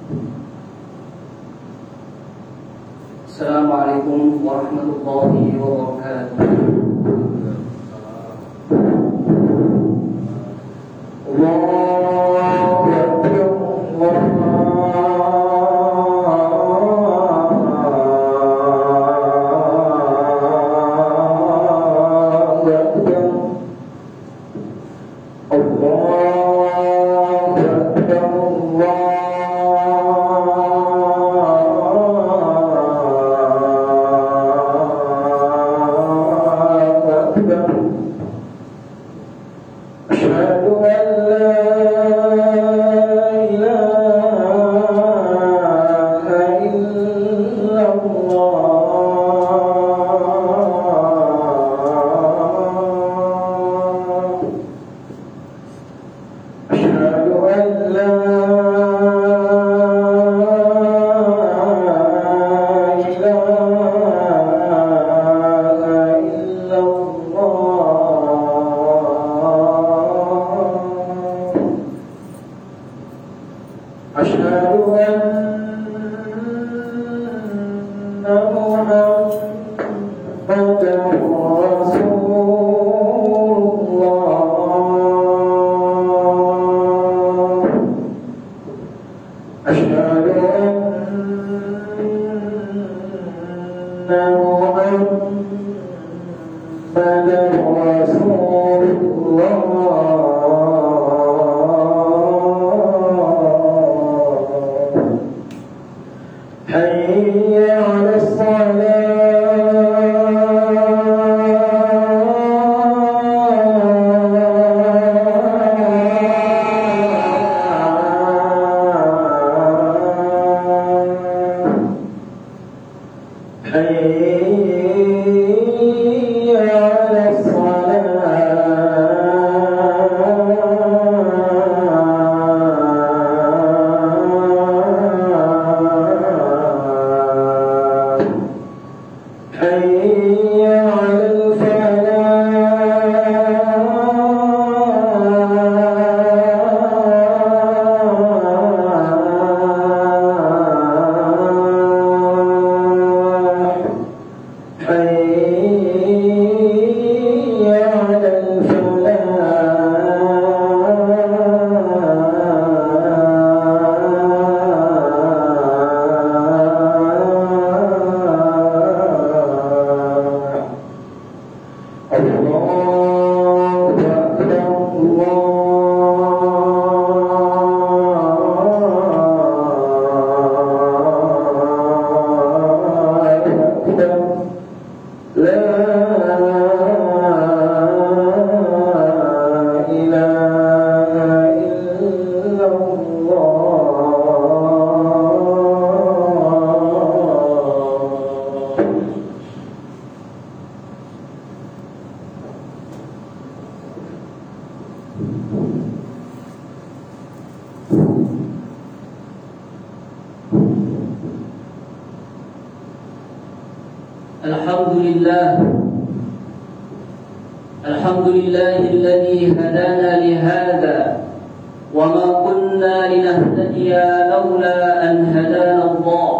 Assalamualaikum warahmatullahi wabarakatuh. الحمد لله الذي هدانا لهذا وما كنا لنهتدي لولا أن هدانا الله.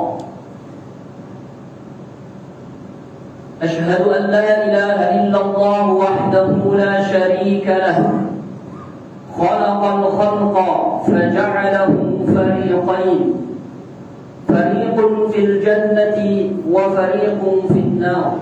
أشهد أن لا إله إلا الله وحده لا شريك له، خلق الخلق فجعله فريقين، فريق في الجنة وفريق في النار.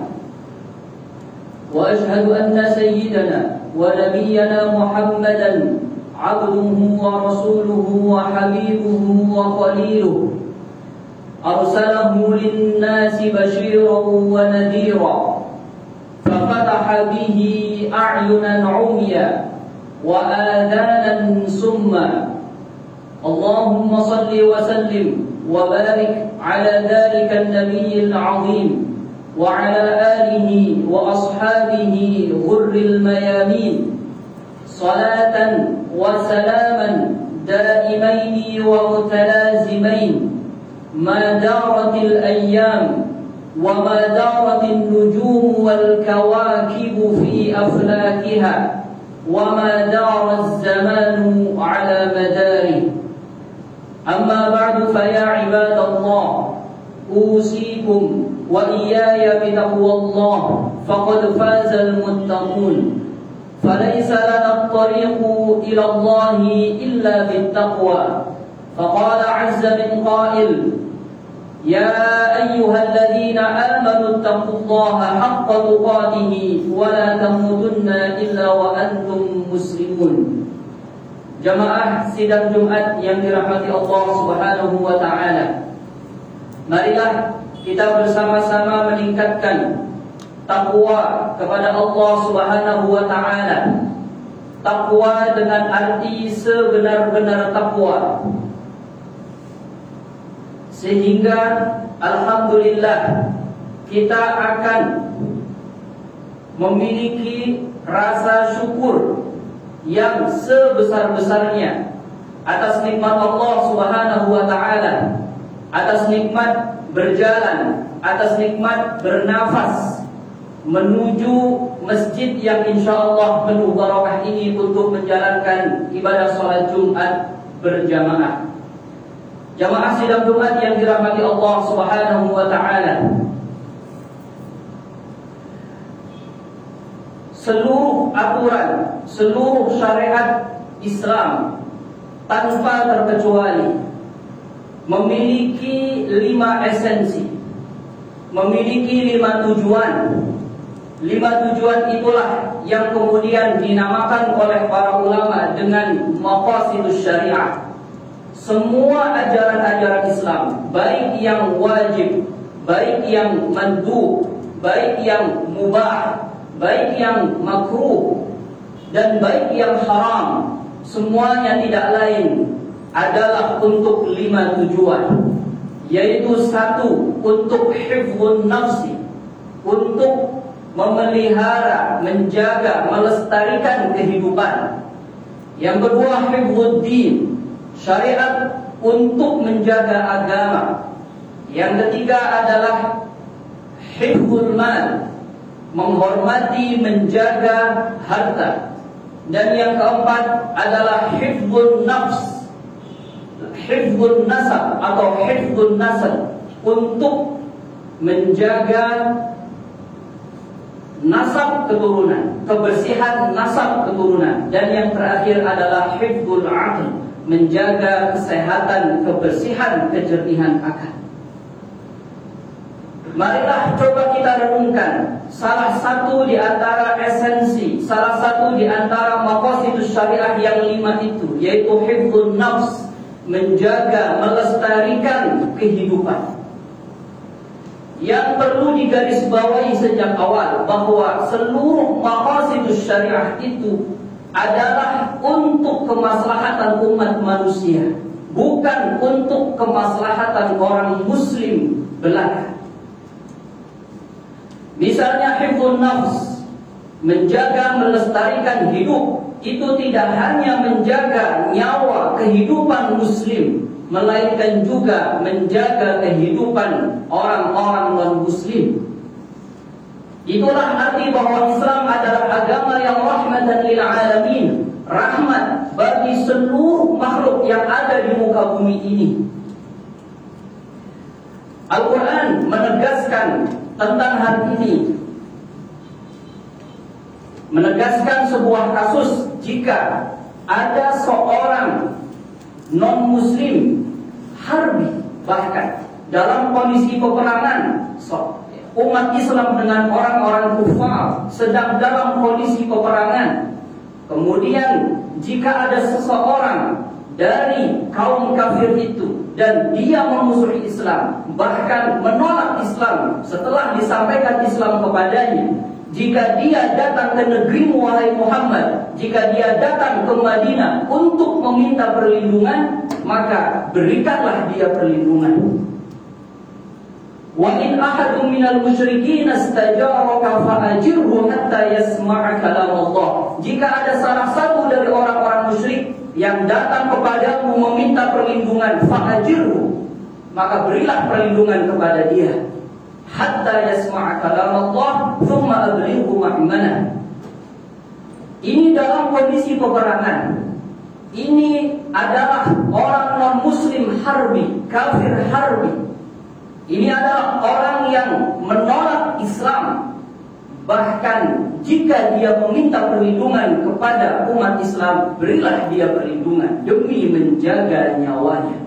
وأشهد أن سيدنا ونبينا محمدا عبده ورسوله وحبيبه وخليله، أرسله للناس بشيرا ونذيرا، ففتح به أعينا عميا وآذانا سما. اللهم صل وسلم وبارك على ذلك النبي العظيم وعلى آله وأصحابه غر الميامين، صلاة وسلاما دائمين ومتلازمين ما دارت الأيام وما دارت النجوم والكواكب في أفلاكها وما دار الزمان على مداره. أما بعد فيا عباد الله أوصيكم وإياي بتقوى الله فقد فاز المتقون فليس لنا الطريق إلى الله إلا بالتقوى فقال عز من قائل يا أيها الذين آمنوا اتقوا الله حق تقاته ولا تموتن إلا وأنتم مسلمون. Jamaah sidang Jumat yang dirahmati Allah Subhanahu wa taala. Marilah kita bersama-sama meningkatkan takwa kepada Allah Subhanahu wa taala. Takwa dengan arti sebenar-benar takwa. Sehingga alhamdulillah kita akan memiliki rasa syukur yang sebesar-besarnya atas nikmat Allah Subhanahu wa taala, atas nikmat berjalan, atas nikmat bernafas menuju masjid yang insyaallah penuh barakah ini untuk menjalankan ibadah salat Jumat berjamaah. Jamaah sidang Jumat yang dirahmati Allah Subhanahu wa taala. Seluruh aturan, seluruh syariat Islam tanpa terkecuali memiliki 5 esensi, memiliki 5 tujuan. 5 tujuan itulah yang kemudian dinamakan oleh para ulama dengan maqasidus syariah. Semua ajaran-ajaran Islam, baik yang wajib, baik yang mandub, baik yang mubah, baik yang makruh, dan baik yang haram, semuanya tidak lain adalah untuk 5 tujuan. Yaitu 1, untuk hifdzun nafsi, untuk memelihara, menjaga, melestarikan kehidupan. Yang kedua, hifdzuddin, syariat untuk menjaga agama. Yang ketiga adalah hifdzul mal, menghormati, menjaga harta. Dan yang keempat adalah hifdzun nafs, hifdzun nasab atau hifdzun nasab, untuk menjaga nasab keturunan, kebersihan nasab keturunan. Dan yang terakhir adalah hifdzul aql, menjaga kesehatan, kebersihan, kejernihan akal. Marilah coba kita renungkan salah satu di antara esensi, salah satu di antara maqasidus syariah yang 5 itu, yaitu hifdzun nafs, menjaga, melestarikan kehidupan. Yang perlu digarisbawahi sejak awal bahwa seluruh maqasidus syariah itu adalah untuk kemaslahatan umat manusia, bukan untuk kemaslahatan orang muslim belaka. Misalnya hifdzun nafs, menjaga, melestarikan hidup, itu tidak hanya menjaga nyawa kehidupan muslim, melainkan juga menjaga kehidupan orang-orang non-muslim. Itulah arti bahwa Islam adalah agama yang rahmatan lil alamin, rahmat bagi seluruh makhluk yang ada di muka bumi ini. Al-Quran menegaskan tentang hal ini, menegaskan sebuah kasus jika ada seorang non-muslim harbi, bahkan dalam kondisi peperangan, umat Islam dengan orang-orang kufar sedang dalam kondisi peperangan. Kemudian jika ada seseorang dari kaum kafir itu dan dia memusuhi Islam, bahkan menolak Islam setelah disampaikan Islam kepadanya, jika dia datang ke negerimu wahai Muhammad, jika dia datang ke Madinah untuk meminta perlindungan, maka berikanlah dia perlindungan. Wa in ahadun minal musyrikin istajaraka fa'ajirhu hatta yasma'a kalam Allah. Jika ada salah satu dari orang-orang musyrik yang datang kepadamu meminta perlindungan, fa'ajirhu, maka berilah perlindungan kepada dia. Hatta yasma'a kalam Allah, thumma ablighu ma'manah. Ini dalam kondisi peperangan. ini adalah orang non-muslim harbi, kafir harbi. Ini adalah orang yang menolak Islam. Bahkan jika dia meminta perlindungan kepada umat Islam, berilah dia perlindungan demi menjaga nyawanya.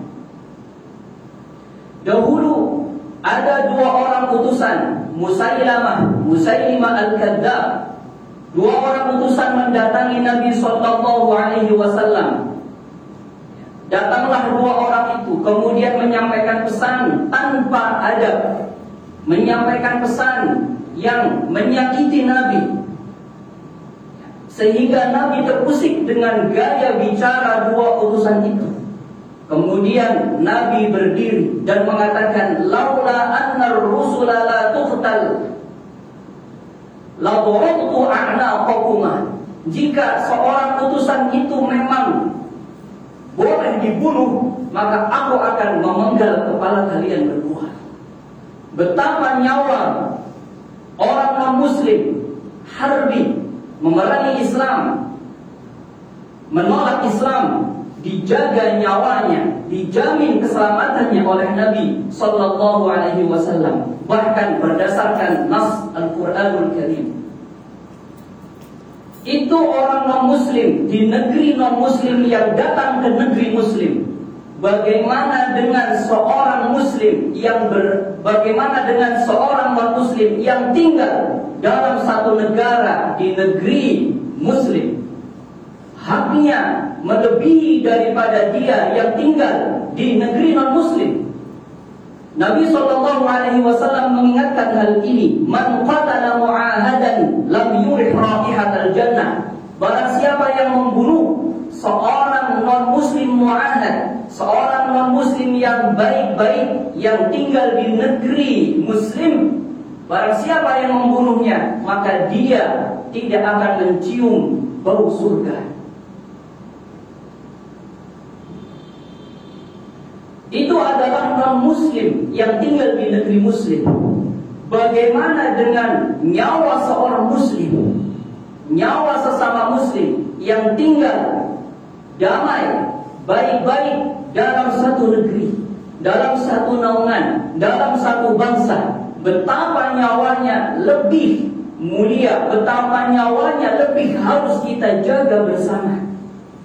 Dahulu ada dua orang utusan, Musailimah al-Kadzdzab. Dua orang utusan mendatangi Nabi SAW. Datanglah dua orang itu, kemudian menyampaikan pesan tanpa adab, menyampaikan pesan yang menyakiti Nabi, sehingga Nabi terusik dengan gaya bicara dua utusan itu. Kemudian Nabi berdiri dan mengatakan, laula anna ar-rusula la tuqtal la darabtu a'naqakumah. Jika seorang utusan itu memang boleh dibunuh, maka aku akan memenggal kepala kalian berdua. Betapa nyawa orang non-muslim harbi memerangi Islam, menolak Islam, dijaga nyawanya, dijamin keselamatannya oleh Nabi sallallahu alaihi wasallam, bahkan berdasarkan nas Al-Qur'anul Karim. Itu orang non-muslim di negeri non-muslim yang datang ke negeri muslim. Bagaimana dengan seorang muslim bagaimana dengan seorang non-muslim yang tinggal dalam satu negara di negeri muslim? Haknya melebihi daripada dia yang tinggal di negeri non-muslim. Nabi SAW mengingatkan hal ini, man qatala mu'ahadan lam yurih raihatal jannah. Barang siapa yang membunuh seorang non-muslim mu'ahad, seorang non-muslim yang baik-baik, yang tinggal di negeri muslim, barang siapa yang membunuhnya, maka dia tidak akan mencium bau surga. Itu adalah non-muslim yang tinggal di negeri muslim. Bagaimana dengan nyawa seorang muslim, nyawa sesama muslim yang tinggal damai, baik-baik dalam satu negeri, dalam satu naungan, dalam satu bangsa? Betapa nyawanya lebih mulia, betapa nyawanya lebih harus kita jaga bersama.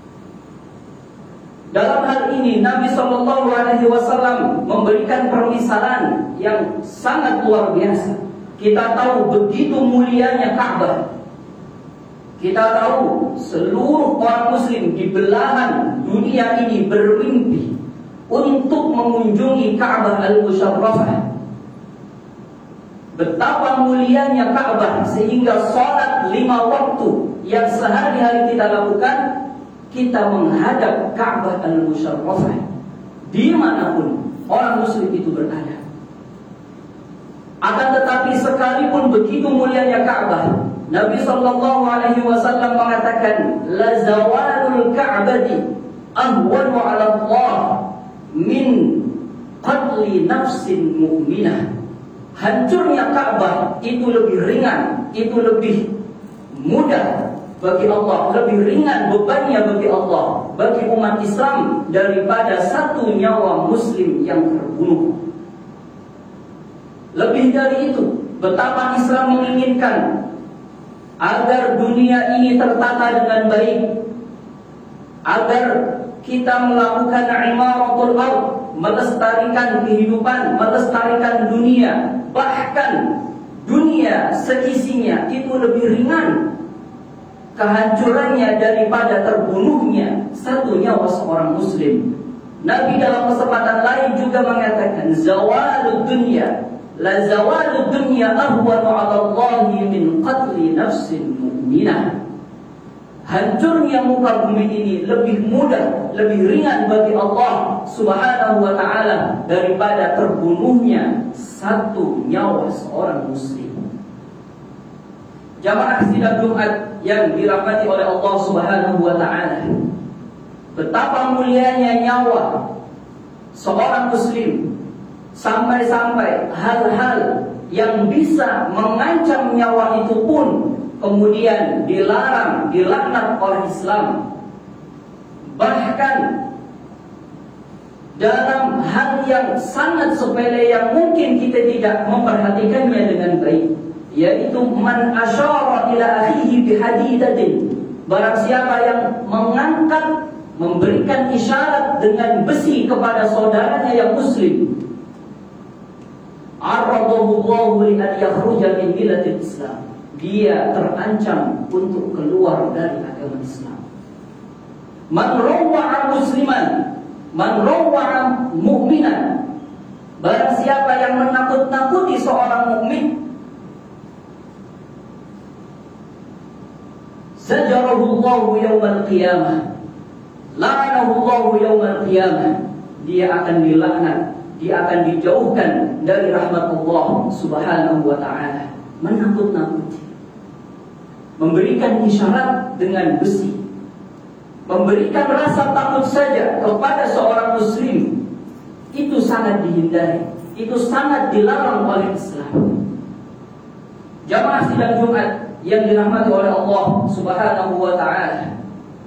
Dalam hal ini Nabi SAW memberikan permisalan yang sangat luar biasa. Kita tahu begitu mulianya Ka'bah. Kita tahu seluruh orang muslim di belahan dunia ini bermimpi untuk mengunjungi Ka'bah Al-Musharrafah. Betapa mulianya Ka'bah sehingga sholat 5 waktu yang sehari-hari kita lakukan, kita menghadap Ka'bah Al-Musharrafah dimanapun orang muslim itu berada. Akan tetapi sekalipun begitu mulianya Ka'bah, Nabi SAW mengatakan, la zawalul Ka'bati ahwanu 'ala Allah min qatli nafsin mu'minah. Hancurnya Ka'bah itu lebih ringan, itu lebih mudah bagi Allah, lebih ringan bebannya bagi Allah, bagi umat Islam, daripada satu nyawa muslim yang terbunuh. Lebih dari itu, betapa Islam menginginkan agar dunia ini tertata dengan baik, agar kita melakukan imaratul ardh, melestarikan kehidupan, melestarikan dunia, bahkan dunia seisinya itu lebih ringan kehancurannya daripada terbunuhnya satu nyawa seorang muslim. Nabi dalam kesempatan lain juga mengatakan, zawalud dunya la zawalud dunya ahwanu 'ala Allah min qatli nafsin mu'minah. Hancurnya muka bumi ini lebih mudah, lebih ringan bagi Allah Subhanahu wa ta'ala daripada terbunuhnya satu nyawa seorang muslim. Jamaah sidang Jumat yang dirahmati oleh Allah Subhanahu wa ta'ala, betapa mulianya nyawa seorang muslim, sampai-sampai hal-hal yang bisa mengancam nyawa itu pun kemudian dilarang, dilaknat oleh Islam. Bahkan dalam hal yang sangat sepele yang mungkin kita tidak memperhatikannya dengan baik, yaitu man asyara ila akhihi bihadidatin, barang siapa yang mengangkat, memberikan isyarat dengan besi kepada saudaranya yang muslim, aradahu Allahu li an yakhruja min millatil Islam, dia terancam untuk keluar dari agama Islam. Man rawwa'a musliman, man rawwa'a mu'minan, barang siapa yang menakut-nakuti seorang mukmin, zajarahu Allahu yaumal qiyamah, la'anahu Allahu yaumal qiyamah, dia akan dilaknat, dia akan dijauhkan dari rahmat Allah Subhanahu wa ta'ala. Menakut-nakuti, memberikan isyarat dengan besi, memberikan rasa takut saja kepada seorang muslim, itu sangat dihindari, itu sangat dilarang oleh Islam. Jamaah sidang Jumat yang dirahmati oleh Allah Subhanahu wa ta'ala,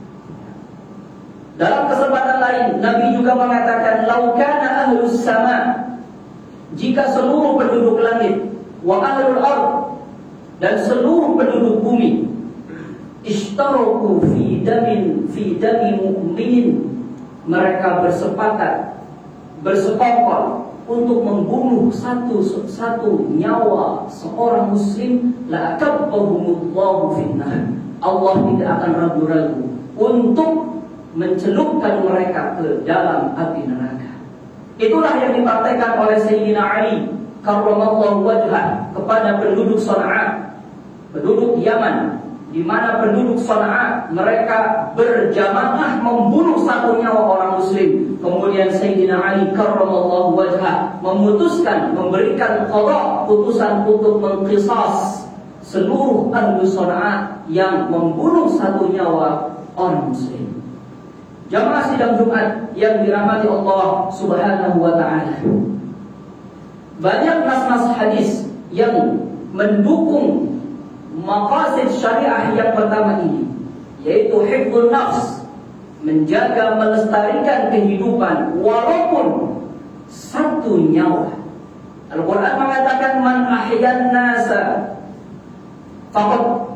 dalam kesempatan lain Nabi juga mengatakan, lau kana ahlus sama, jika seluruh penduduk langit, wa ahlul ard, dan seluruh penduduk bumi, ishtaraku fi dami mu'minin, mereka bersepakat, bersekongkol untuk membunuh satu nyawa seorang muslim, la akabbahumullahu finnar, Allah tidak akan ragu-ragu untuk mencelupkan mereka ke dalam api neraka. Itulah yang dipraktekkan oleh Sayyidina Ali karramallahu wajhah kepada penduduk Sana'a, penduduk Yaman, di mana penduduk Sana'a mereka berjamaah membunuh satu nyawa orang muslim. Kemudian Sayyidina Ali karramallahu wajhah memutuskan, memberikan qada, putusan untuk mengqisas seluruh ahli Sana'a yang membunuh satu nyawa orang muslim. Jamaah sidang Jumat yang dirahmati Allah Subhanahu wa ta'ala, banyak nas-nas hadis yang mendukung maqasid syariah yang pertama ini, yaitu hifdzun nafs, menjaga melestarikan kehidupan walaupun satu nyawa. Al-Quran mengatakan man ahyan nasa faqad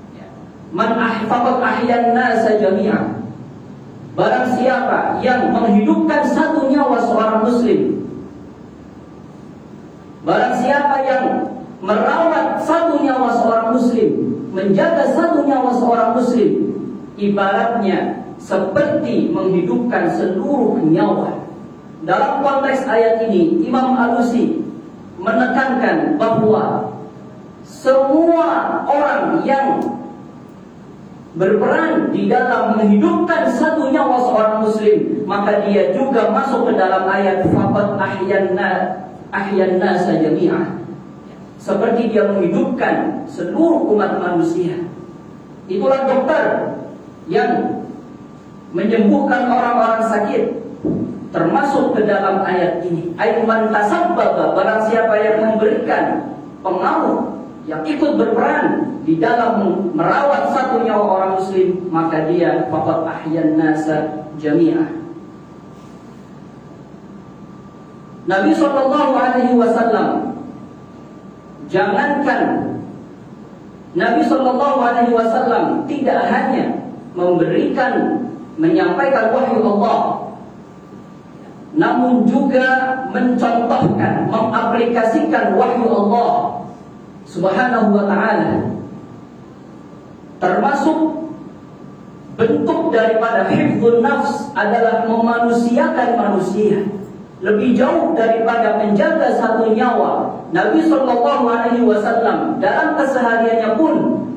ahyan nasa jami'an, barang siapa yang menghidupkan satu nyawa seorang muslim, barang siapa yang merawat satu nyawa seorang muslim, menjaga satu nyawa seorang muslim, ibaratnya seperti menghidupkan seluruh nyawa. Dalam konteks ayat ini, Imam Alusi menekankan bahwa semua orang yang berperan di dalam menghidupkan satu nyawa seorang muslim, maka dia juga masuk ke dalam ayat faqad ahyan nasa jami'ah, seperti dia menghidupkan seluruh umat manusia. Itulah dokter yang menyembuhkan orang-orang sakit, termasuk ke dalam ayat ini. Aiman tasabbaba, barang siapa yang memberikan pengaruh, yang ikut berperan di dalam merawat satu nyawa orang muslim, maka dia faqad ahyan nasa jami'ah. Nabi SAW, jangankan Nabi SAW tidak hanya menyampaikan wahyu Allah, namun juga mencontohkan, mengaplikasikan wahyu Allah Subhanahu wa ta'ala. Termasuk bentuk daripada hifdzun nafs adalah memanusiakan manusia. Lebih jauh daripada menjaga satu nyawa, Nabi SAW dalam kesehariannya pun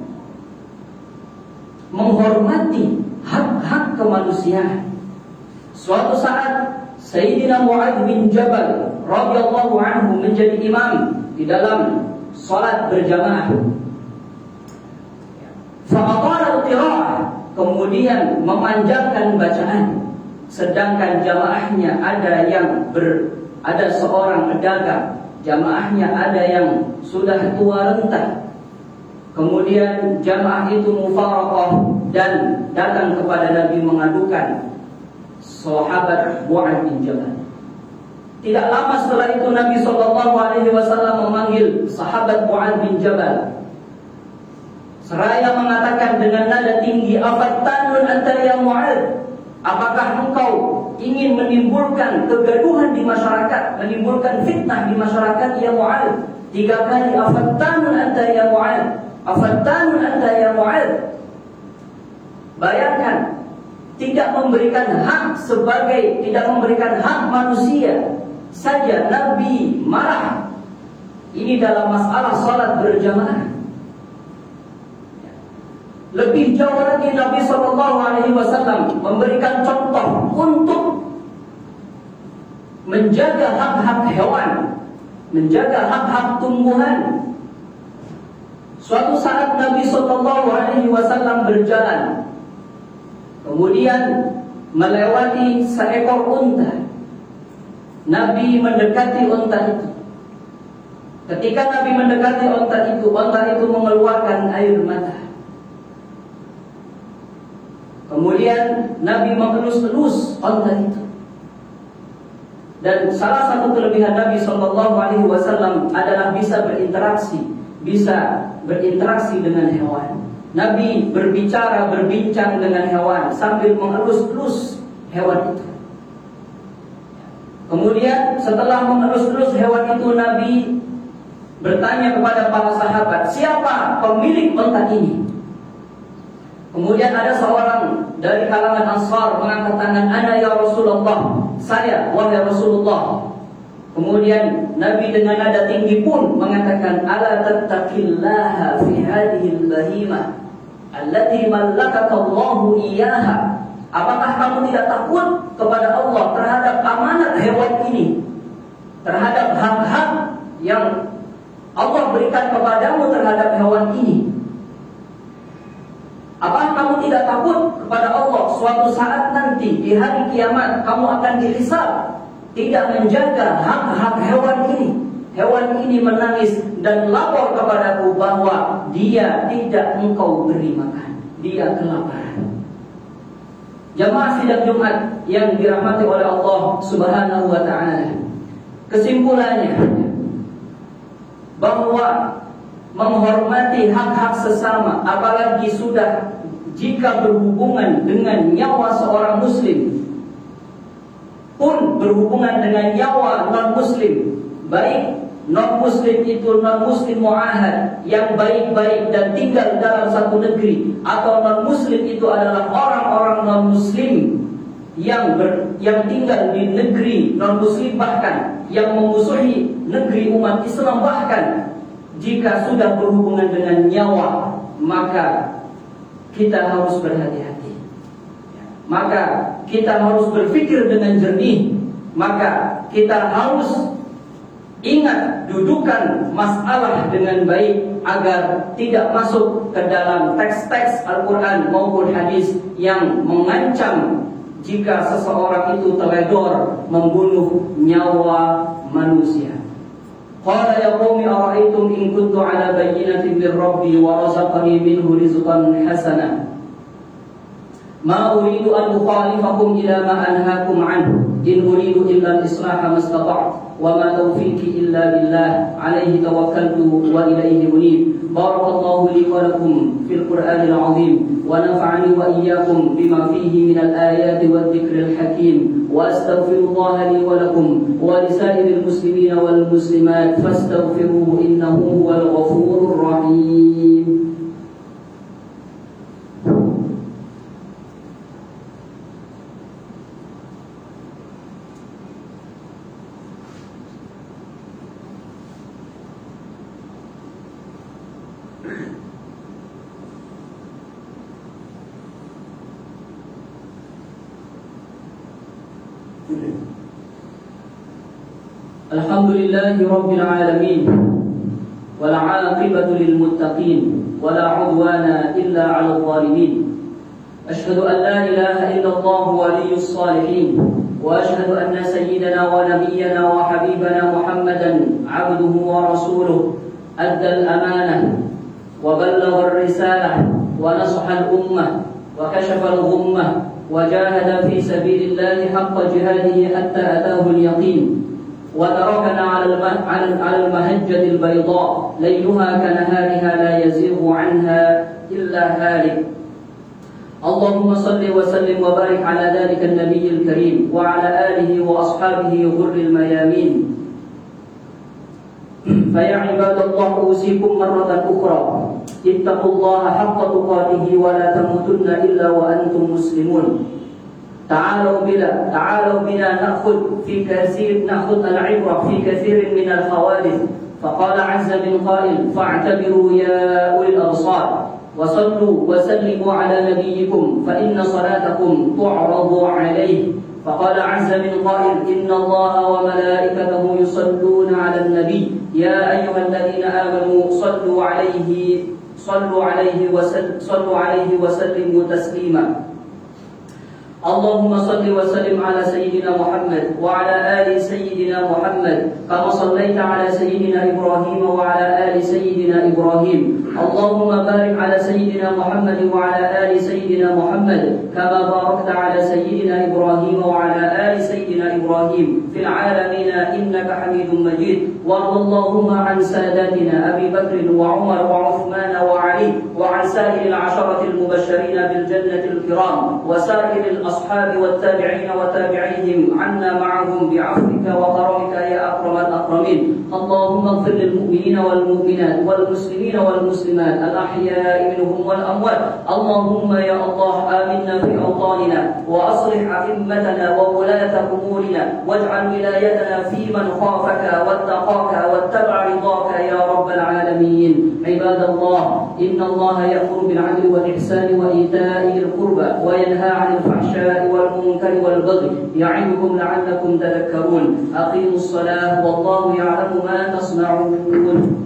menghormati hak-hak kemanusiaan. Suatu saat Sayyidina Mu'adz bin Jabal radhiyallahu anhu menjadi imam di dalam salat berjamaah. Fa'atara al-qira'ah, kemudian memanjangkan bacaan, sedangkan jamaahnya ada seorang pedagang, jamaahnya ada yang sudah tua renta. Kemudian jamaah itu mufaraqah dan datang kepada Nabi mengadukan sahabat Mu'adz bin Jabal. Tidak lama setelah itu Nabi SAW memanggil sahabat Mu'adz bin Jabal, seraya mengatakan dengan nada tinggi, "Afattanun anta ya Mu'adz? Apakah engkau ingin menimbulkan kegaduhan di masyarakat, menimbulkan fitnah di masyarakat ya Mu'adz?" 3 kali, "Afattanun anta ya Mu'adz? Afattanun anta ya Mu'adz?" Bayangkan, tidak memberikan hak manusia saja Nabi marah. Ini dalam masalah salat berjamaah. Lebih jauh lagi Nabi SAW memberikan contoh untuk menjaga hak-hak hewan, menjaga hak-hak tumbuhan. Suatu saat Nabi SAW berjalan, kemudian melewati seekor unta. Nabi mendekati unta itu. Ketika Nabi mendekati unta itu mengeluarkan air mata. Kemudian Nabi mengelus-elus unta itu. Dan salah satu kelebihan Nabi SAW adalah bisa berinteraksi dengan hewan. Nabi berbincang dengan hewan sambil mengelus-elus hewan itu. Kemudian setelah mengelus-elus hewan itu, Nabi bertanya kepada para sahabat, "Siapa pemilik unta ini?" Kemudian ada seorang dari kalangan Ansar mengangkat tangan, "Ana ya Rasulullah." "Saya, wahai Rasulullah." Kemudian Nabi dengan nada tinggi pun mengatakan, "Ala tattaqillaha fi hadhihi al-bahimah allati mallakaka Allahu iyyaha." Apakah kamu tidak takut kepada Allah terhadap amanat hewan ini, terhadap hak-hak yang Allah berikan kepadamu terhadap hewan ini? Apakah kamu tidak takut kepada Allah suatu saat nanti di hari kiamat kamu akan dihisab tidak menjaga hak-hak hewan ini? Hewan ini menangis dan lapor kepadaku bahwa dia tidak engkau beri makan, dia kelaparan. Jamaah sidang Jumat yang dirahmati oleh Allah Subhanahu wa ta'ala, kesimpulannya bahwa menghormati hak-hak sesama, apalagi sudah jika berhubungan dengan nyawa seorang muslim, pun berhubungan dengan nyawa non-muslim, baik non-muslim itu non-muslim mu'ahad yang baik-baik dan tinggal dalam satu negeri, atau non-muslim itu adalah orang-orang non-muslim yang tinggal di negeri non-muslim, bahkan yang memusuhi negeri umat Islam. Bahkan jika sudah berhubungan dengan nyawa, maka kita harus berhati-hati, maka kita harus berpikir dengan jernih, maka kita harus ingat dudukan masalah dengan baik agar tidak masuk ke dalam teks-teks Al-Quran maupun hadis yang mengancam jika seseorang itu teledor membunuh nyawa manusia. Qala ya qaumi ara'aytum in kuntu ala bayyinatin min rabbi wa razaqani minhu rizqan hasana ma uridu an ukhalifakum ila ma anhaakum anhu in uridu illa al-islaha mastata'tu wa ma tawfiqi illa billah alayhi tawakkaltu wa ilayhi unib. Barakallahu li wa lakum fil Qur'anil 'azim wa nafa'ani wa iyyakum bima fihi minal ayati wadh dhikril hakim wa astaghfirullaha li wa lakum wa lisa'iril muslimina wal muslimat fastaghfiruhu innahu huwal ghafurur rahim. Alhamdulillahi Rabbil Alamin wal 'aqibatu lil muttaqin wa la 'udwana illa 'alal zalimin. Ashhadu an la ilaha illallah waliyyus salihin wa ashhadu anna sayyidana wa nabiyyana wa habibana Muhammadan 'abduhu wa rasuluhu adda al-amanah wa ballagha ar-risalah wa nasaha al-ummah wa kashafa al-ghummah وجاهد في سبيل الله حق جهاده حتى أتاه اليقين وتركنا على المهجة البيضاء ليلها كنهارها لا يزيغ عنها إلا هالك. اللهم صل وسلم وبارك على ذلك النبي الكريم وعلى آله وأصحابه غر الميامين. فيا عباد الله أوصيكم مرة أخرى اتقوا الله حق تقاته ولا تموتن إلا وأنتم مسلمون. تعالوا بنا نأخذ العبرة في كثير من الحوادث. فقال عز من قائل فاعتبروا يا أولي الأبصار وصلوا وسلموا على نبيكم فإن صلاتكم تعرض عليه. فقال عز من قائل إن الله وملائكته يصلون على النبي يا أيها الذين آمنوا صلوا عليه وسلموا تسليما. اللهم صل وسلم على سيدنا محمد وعلى آل سيدنا محمد كما صليت على سيدنا إبراهيم وعلى آل سيدنا إبراهيم. اللهم بارك على سيدنا محمد وعلى آل سيدنا محمد كما باركت على سيدنا إبراهيم وعلى آل سيدنا إبراهيم في العالمين إنك حميد مجيد. وارض اللهم عن ساداتنا أبي بكر وعمر وعثمان وعلي وعن سائر العشرة المبشرين بالجنة الكرام وسائر الأصحاب والتابعين وتابعيهم عنا معهم بعفوك وكرمك يا أكرم الأكرمين. اللهم اغفر للمؤمنين والمؤمنات والمسلمين والمسلمات الأحياء منهم والأموات. اللهم يا الله آمنا في أوطاننا وأصلح أئمتنا وولاة أمورنا واجعل ولايتنا في من خافك واتقاك واتبع رضاك يا رب العالمين. عباد الله إن الله يأمر بالعدل والإحسان وإيتاء ذي القربى وينهى عن الفحشاء والمنكر والبغي يعظكم لعلكم تذكرون. أقيموا الصلاة والله يعلم ما تصنعون.